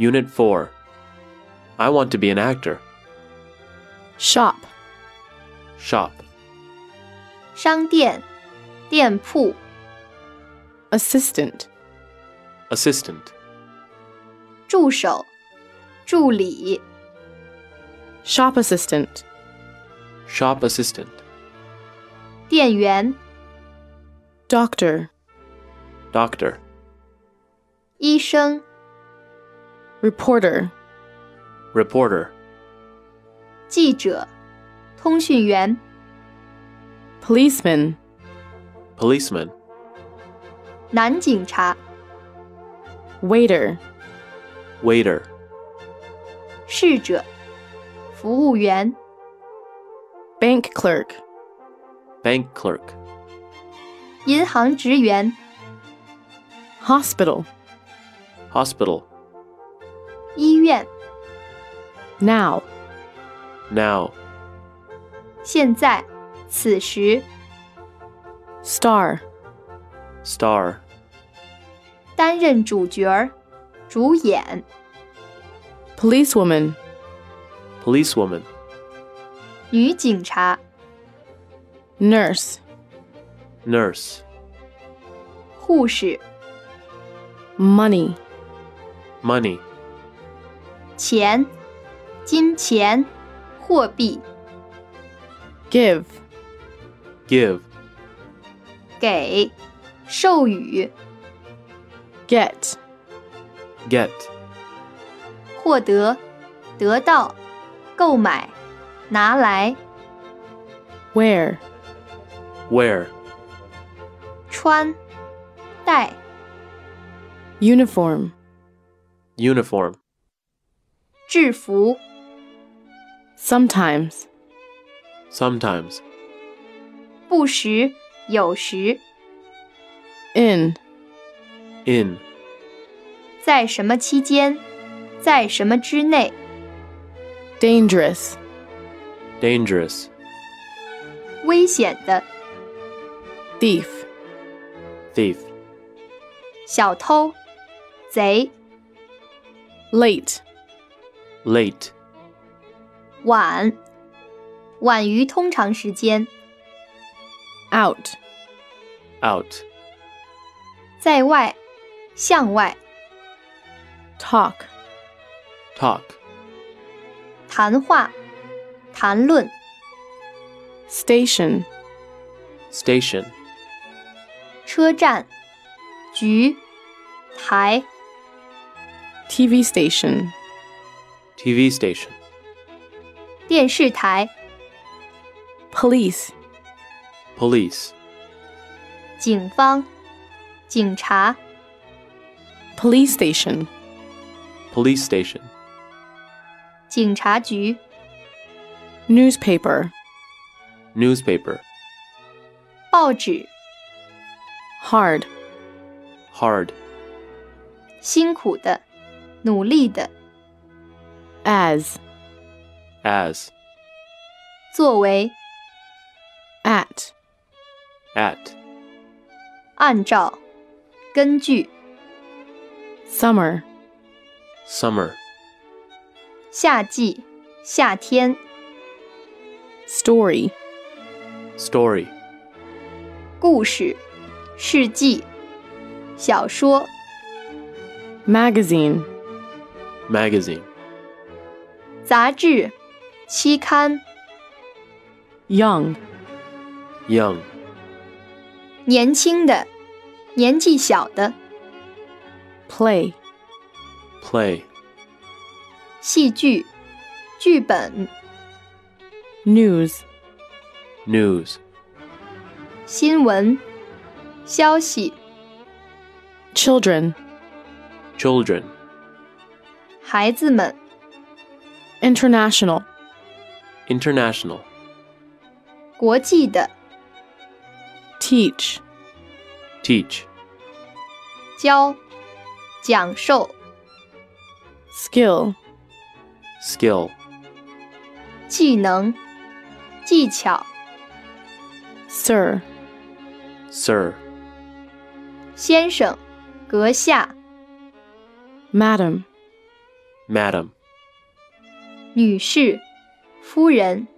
Unit 4. I want to be an actor. Shop. Shop. 商店、店铺、 Assistant. Assistant. 助手、助理、 Shop assistant. Shop assistant. 店员、 Doctor. Doctor. 医生、 Reporter. Reporter. 记者、通讯员、 Policeman. Policeman. 男警察、 Waiter. Waiter. 侍者、服务员、 Bank clerk. Bank clerk. 银行职员、 Hospital. Hospital. 医院、 Now. Now. 现在、此时、 Star. Star. 担任主角儿、主演、 Policewoman. Policewoman. 女警察、 Nurse. Nurse. 护士、 Money. Money. 钱、金钱、货币、 Give. Give. 给、授予、 Get. Get. 获得、得到、购买、拿来、 Wear. Wear. 穿、戴、 Uniform. Uniform. 制服、 Sometimes. Sometimes. 不时、有时、 In. In. 在什么期间、在什么之内、 Dangerous. Dangerous. 危险的、 Thief. Thief. 小偷、贼、 Late. Late. 晚、晚于通常时间、 Out. Out. 在外、向外、 Talk. Talk. 谈话、谈论、 Station. Station. 车站、局、台、 TV station. TV station. 电视台、 Police. Police. 警方、警察、 Police station. Police station. 警察局、 Newspaper. Newspaper. 报纸、 Hard. Hard. 辛苦的、努力的、 As. As. 作为、 At. At. 按照、根据、 Summer. Summer. 夏季、夏天、 Story. Story. 故事、事迹、小说、 Magazine. Magazine. 杂志、期刊、 Young. Young. 年轻的、年纪小的、 Play. Play. 戏剧、剧本、 News. News. 新闻、消息、 Children. Children. 孩子们、 International. International. 国际的、 Teach. Teach. 教、讲授、 Skill. Skill. 技能、技巧、 Sir. Sir. 先生、阁下、 Madam. madam, 女士、夫人。